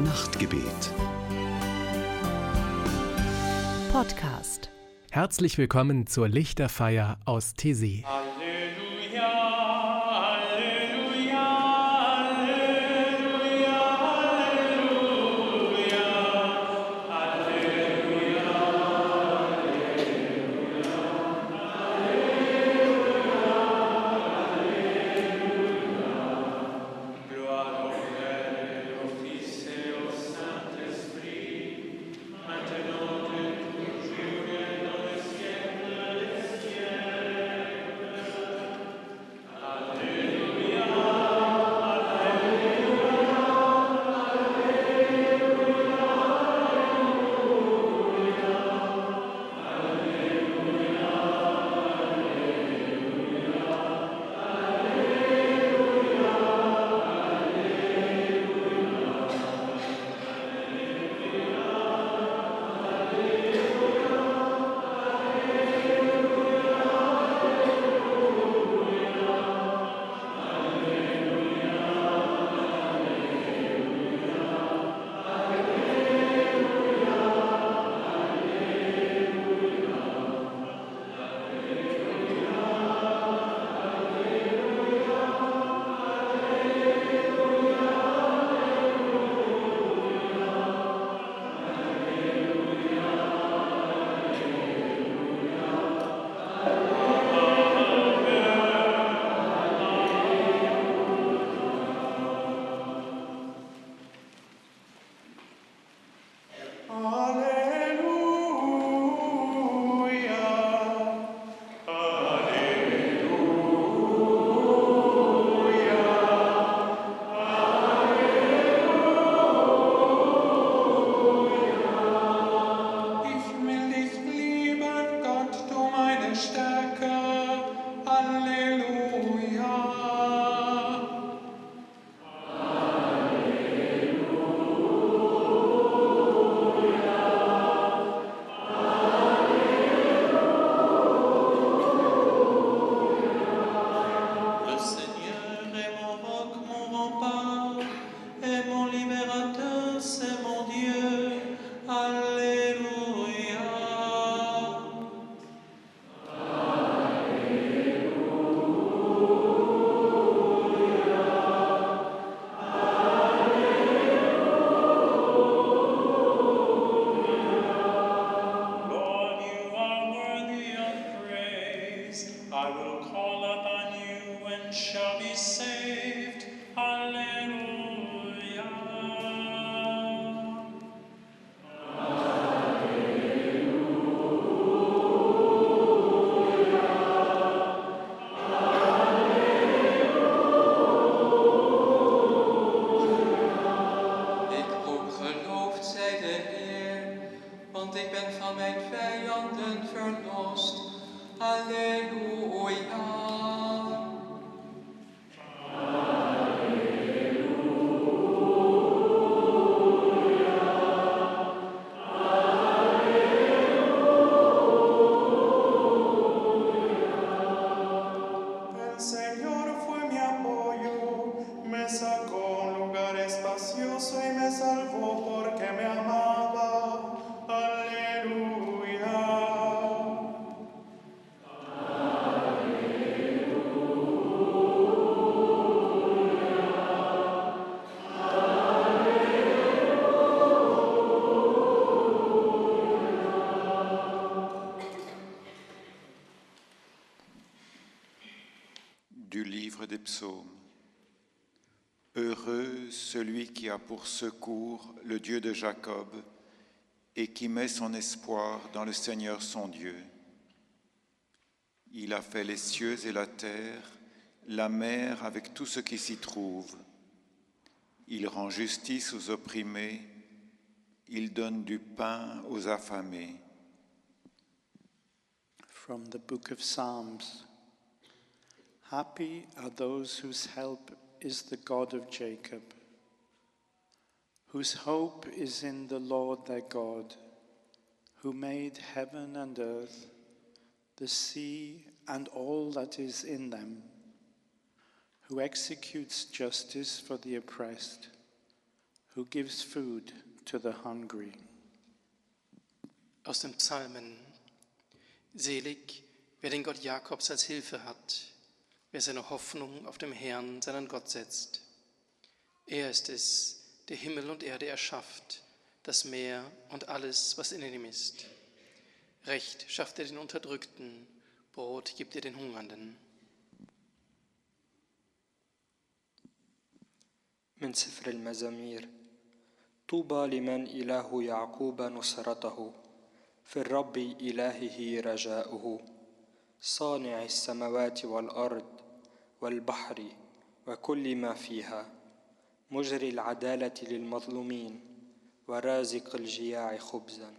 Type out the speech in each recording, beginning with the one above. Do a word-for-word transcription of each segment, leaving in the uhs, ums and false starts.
Nachtgebet. Podcast. Herzlich willkommen zur Lichterfeier aus Thésée. Halleluja, Halleluja, Halleluja, Halleluja, Halleluja. Gloire au Père et au Fils et au Saint-Esprit, maintenant et toujours et dans les siècles des siècles. Alléluia, ich will dich lieben, Gott, du meine Stärke. Halleluja. Le Seigneur est mon roc, mon rempart, et mon libérateur, c'est mon Dieu. Alléluia. Lord, you are worthy of praise. I will call upon you and shall be saved. Hallelujah. Ik ook geloofd, zij de Heer, want ik ben van mijn vijanden verlost. Halleluja. El Señor fue mi apoyo, me sacó a un lugar espacioso y me salvó porque me amaba. Aleluya. Du livre des psaumes. Heureux celui qui a pour secours le Dieu de Jacob et qui met son espoir dans le Seigneur son Dieu. Il a fait les cieux et la terre, la mer avec tout ce qui s'y trouve. Il rend justice aux opprimés, il donne du pain aux affamés. From the book of Psalms. Happy are those whose help is the God of Jacob, whose hope is in the Lord their God, who made heaven and earth, the sea and all that is in them, who executes justice for the oppressed, who gives food to the hungry. Aus den Psalmen. Selig, wer den Gott Jakobs als Hilfe hat, wer seine Hoffnung auf dem Herrn, seinen Gott setzt. Er ist es, der Himmel und Erde erschafft, das Meer und alles, was in ihm ist. Recht schafft er den Unterdrückten, Brot gibt er den Hungernden. من سفر المزامير طوبى لمن إله يعقوب نصرته في الرب إلهه رجاؤه صانع السماوات والأرض والبحر وكل ما فيها مجري العدالة للمظلومين ورازق الجياع خبزا.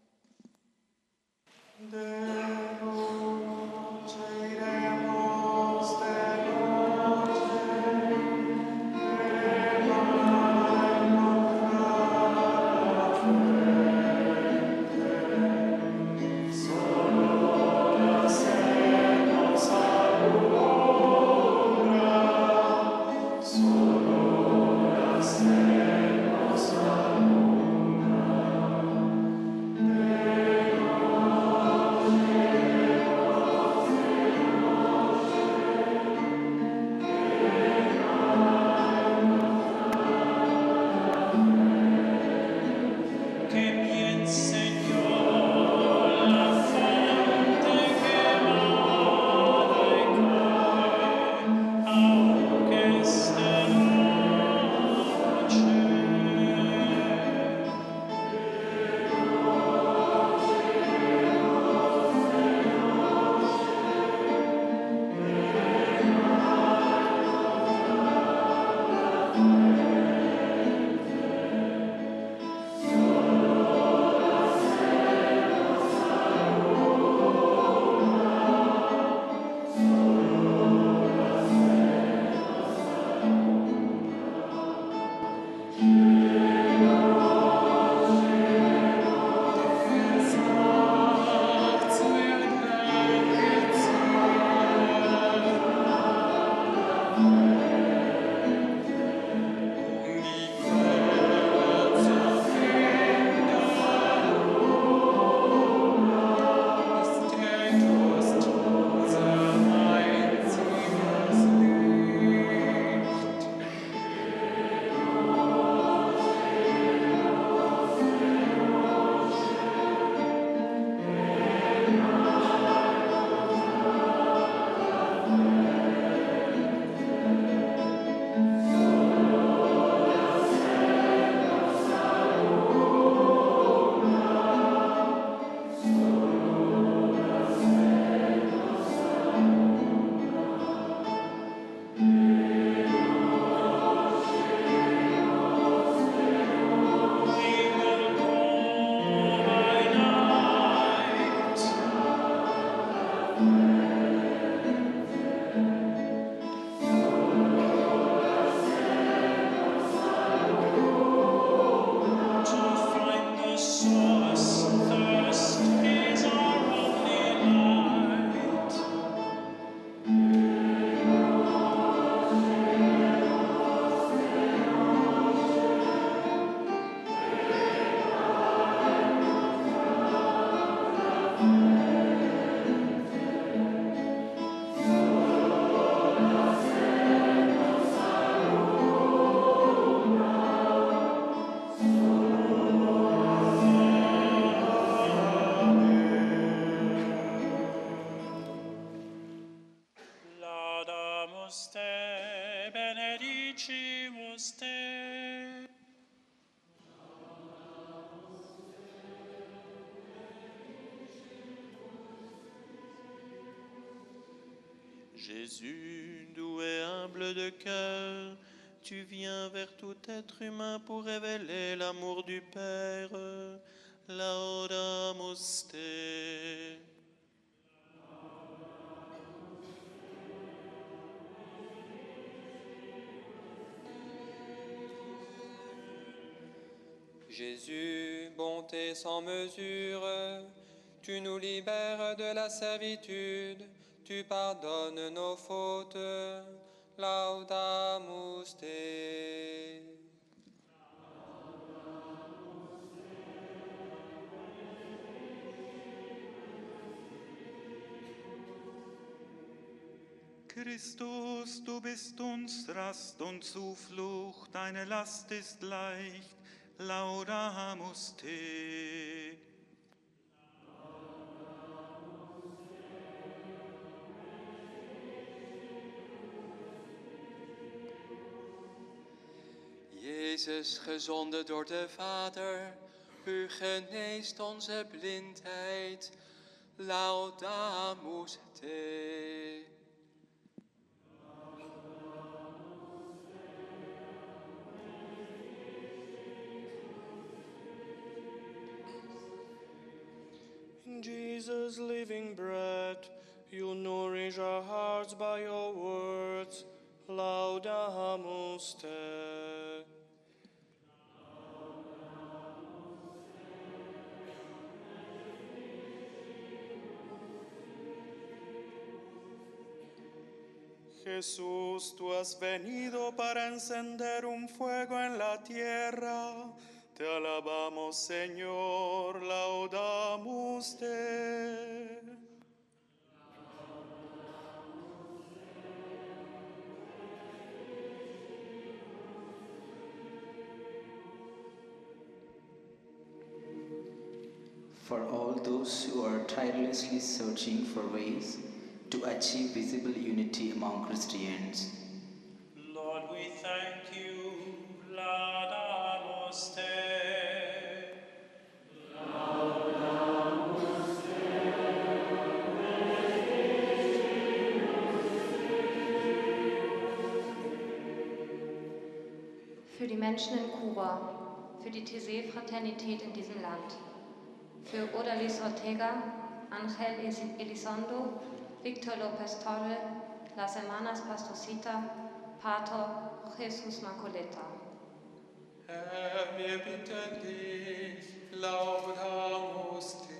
Jésus, doux et humble de cœur, tu viens vers tout être humain pour révéler l'amour du Père. Laudamus te. Jésus, bonté sans mesure, tu nous libères de la servitude, tu pardonnes nos fautes. Laudamus te. Christus, du bist uns Rast und Zuflucht, deine Last ist leicht, laudamus te. Jezus, gezonden door de Vader, u geneest onze blindheid. Laudamus te. Jesus, living bread, you nourish our hearts by your words. Laudamus te. Jesús, tú has venido para encender un fuego en la tierra. Te alabamos, Señor, laudamus te. For all those who are tirelessly searching for ways to achieve visible unity among Christians, Lord, we thank you, laudamus te. Für die Menschen in Kuba, für die Taizé-Fraternität in diesem Land, für Odalis Ortega, Ángel Elizondo, Victor López Torre, Las Hermanas Pastorcita, Pater Jesus Macoleta. Herr, wir bitten dich, laudamus te.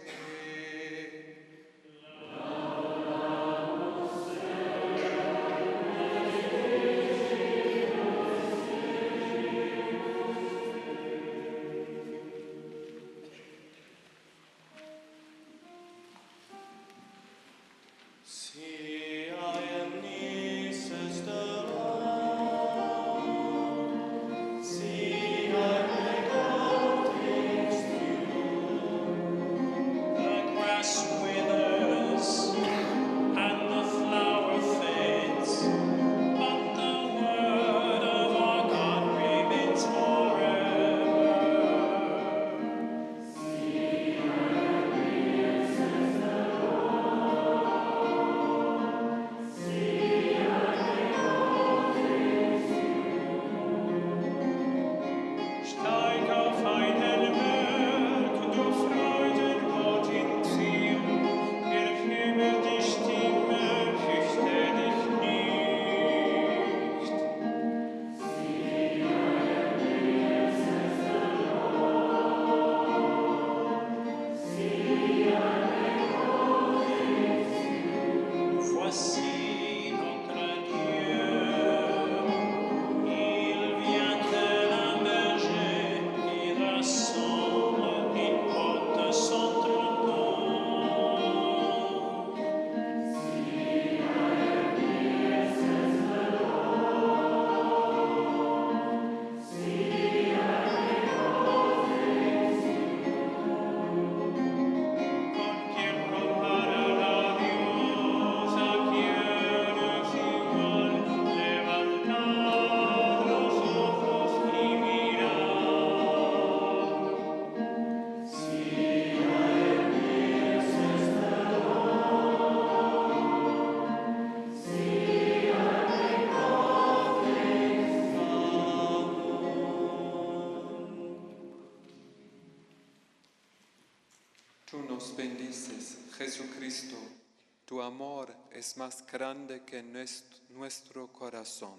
Tú nos bendices, Jesucristo. Tu amor es más grande que nuestro corazón.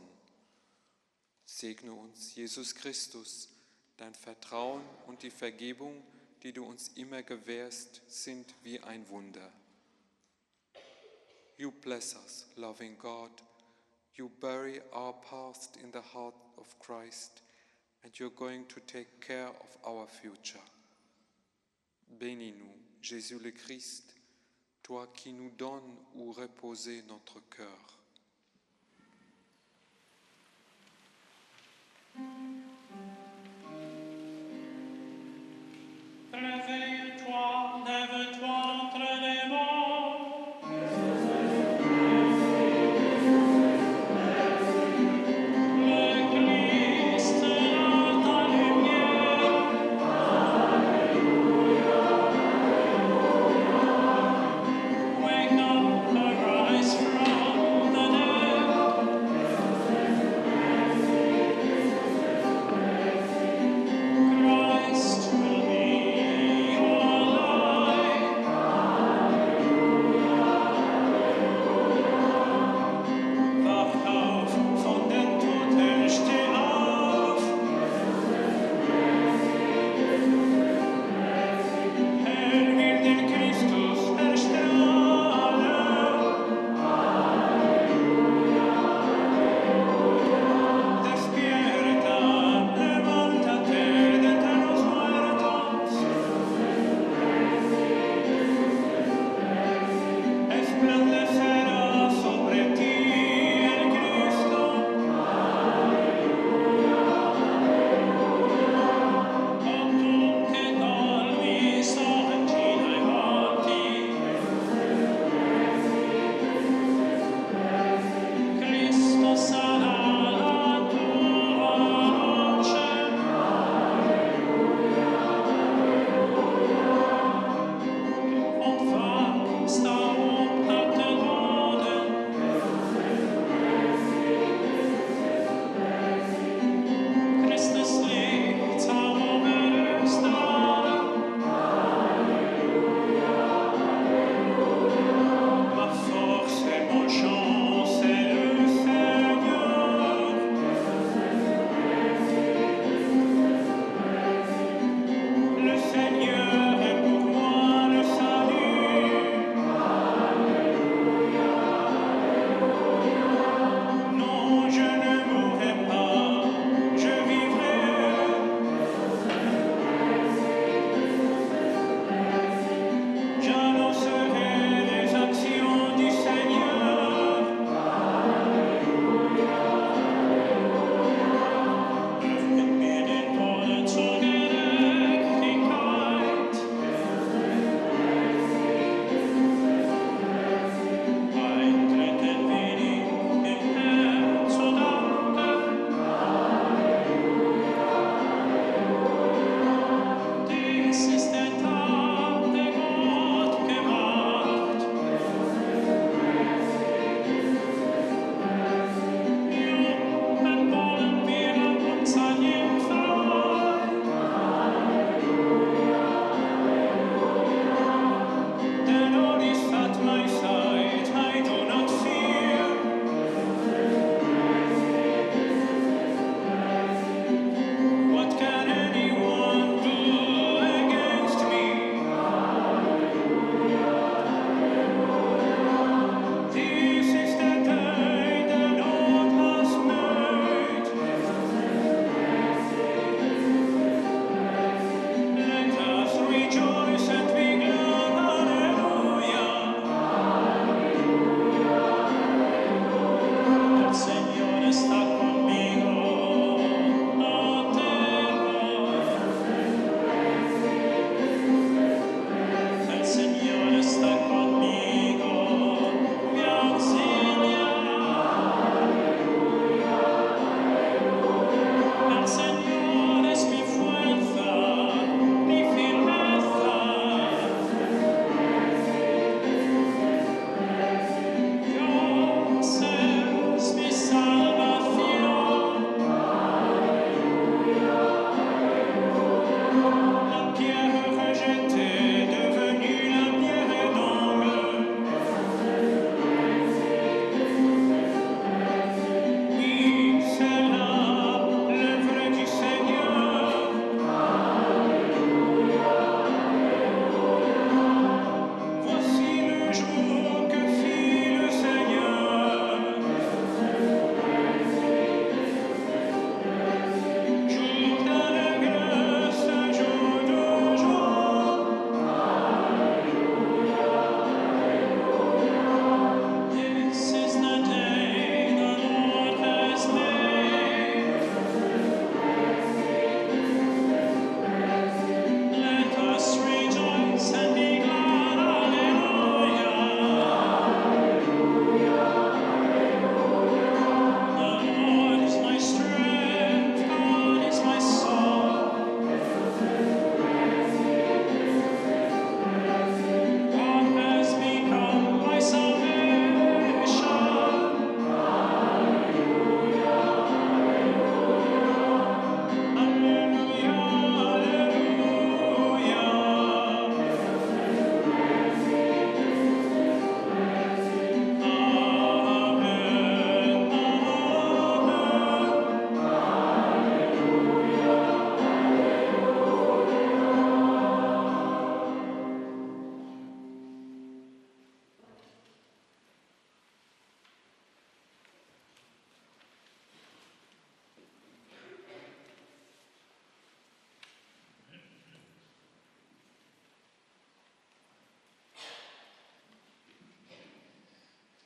Segne uns, Jesus Christus. Dein Vertrauen und die Vergebung, die du uns immer gewährst, sind wie ein Wunder. You bless us, loving God. You bury our past in the heart of Christ, and you're going to take care of our future. Bénis-nous, Jésus le Christ, toi qui nous donnes où reposer notre cœur.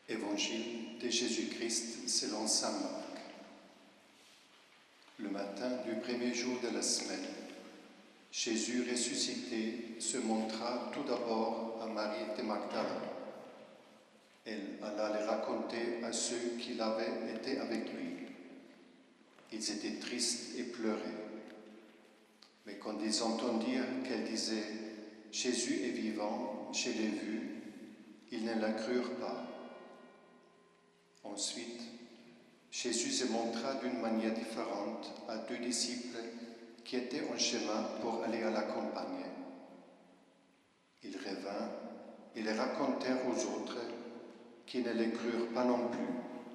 Évangile de Jésus-Christ selon saint Marc. Le matin du premier jour de la semaine, Jésus ressuscité se montra tout d'abord à Marie de Magdala. Elle alla le raconter à ceux qui l'avaient été avec lui. Ils étaient tristes et pleuraient. Mais quand ils entendirent qu'elle disait « Jésus est vivant, je l'ai vu », ils ne la crurent pas. Ensuite, Jésus se montra d'une manière différente à deux disciples qui étaient en chemin pour aller à la campagne. Ils revinrent et les racontèrent aux autres qui ne les crurent pas non plus.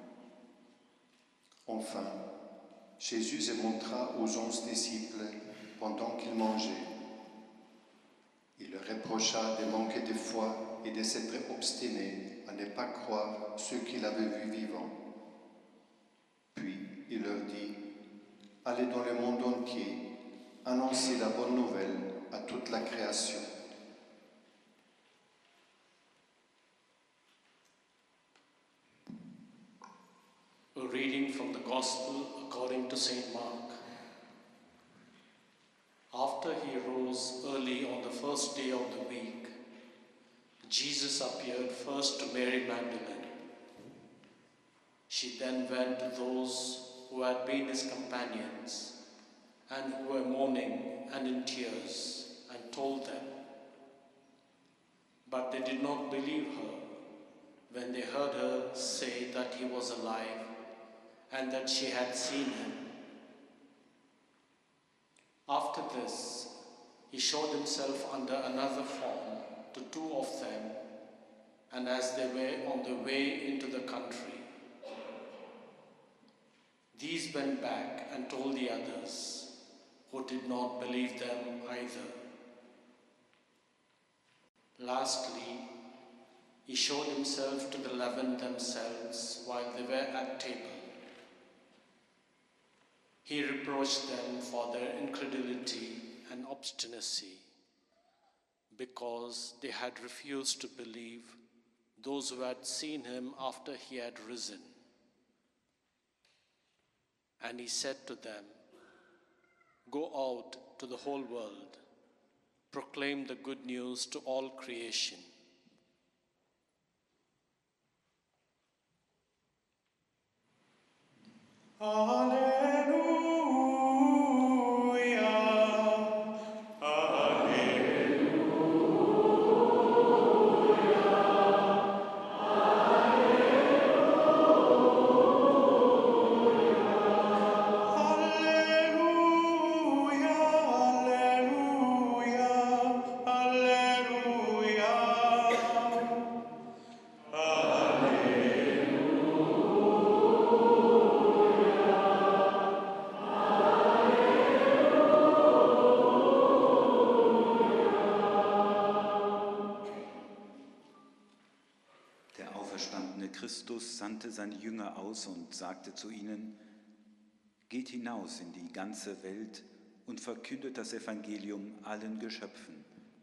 Enfin, Jésus se montra aux onze disciples pendant qu'ils mangeaient. Il leur reprocha de manquer de foi et de s'être obstinés à ne pas croire ceux qu'il avait vus vivants. Puis il leur dit, « Allez dans le monde entier, annoncez la bonne nouvelle à toute la création. » A reading from the Gospel according to Saint Mark. After he rose early on the first day of the week, Jesus appeared first to Mary Magdalene. She then went to those who had been his companions and who were mourning and in tears, and told them. But they did not believe her when they heard her say that he was alive and that she had seen him. After this, he showed himself under another form to two of them, and as they were on the way into the country, these went back and told the others, who did not believe them either. Lastly, he showed himself to the eleven themselves while they were at table. He reproached them for their incredulity and obstinacy, because they had refused to believe those who had seen him after he had risen. And he said to them, "Go out to the whole world, proclaim the good news to all creation. Alleluia, Christus sandte seine Jünger aus und sagte zu ihnen, geht hinaus in die ganze Welt und verkündet das Evangelium allen Geschöpfen.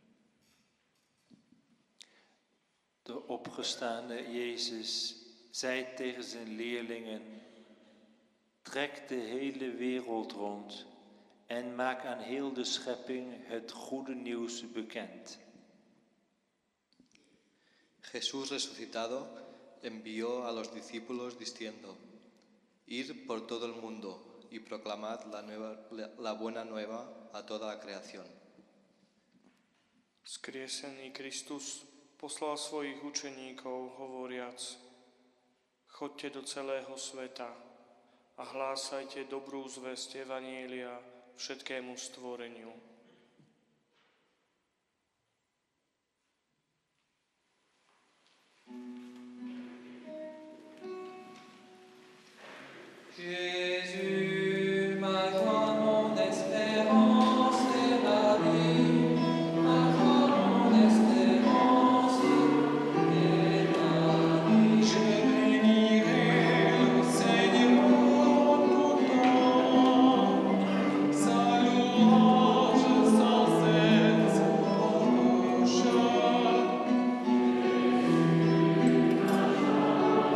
De opgestaande Jezus zei tegen zijn leerlingen, trek de hele wereld rond en maak aan heel de schepping het goede nieuws bekend. Jesús resucitado envió a los discípulos diciendo, id por todo el mundo y proclamad la, nueva, la buena nueva a toda la creación. Skriesený Kristus poslal svojich učeníkov, hovoriac, choďte do celého sveta a hlásajte dobrú zvesť evanjelia všetkému stvoreniu. Jésus, ma joie, mon espérance et ma vie, ma joie, mon espérance et ma vie. Je bénirai le Seigneur tout temps, sa louange sans cesse en bouche.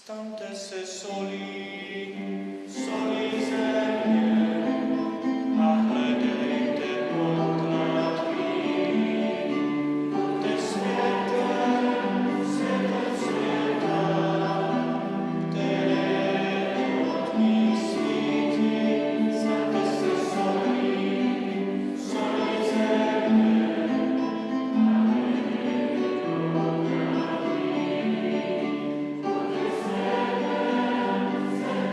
Stantes e soli, soli servi, accredete contra qui, despieta, se consueta, teleut misiti, stantes e soli, soli servi, accredete contra qui,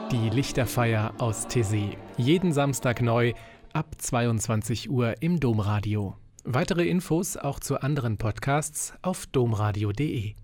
Die Lichterfeier aus Taizé. Jeden Samstag neu ab zweiundzwanzig Uhr im Domradio. Weitere Infos auch zu anderen Podcasts auf domradio punkt de.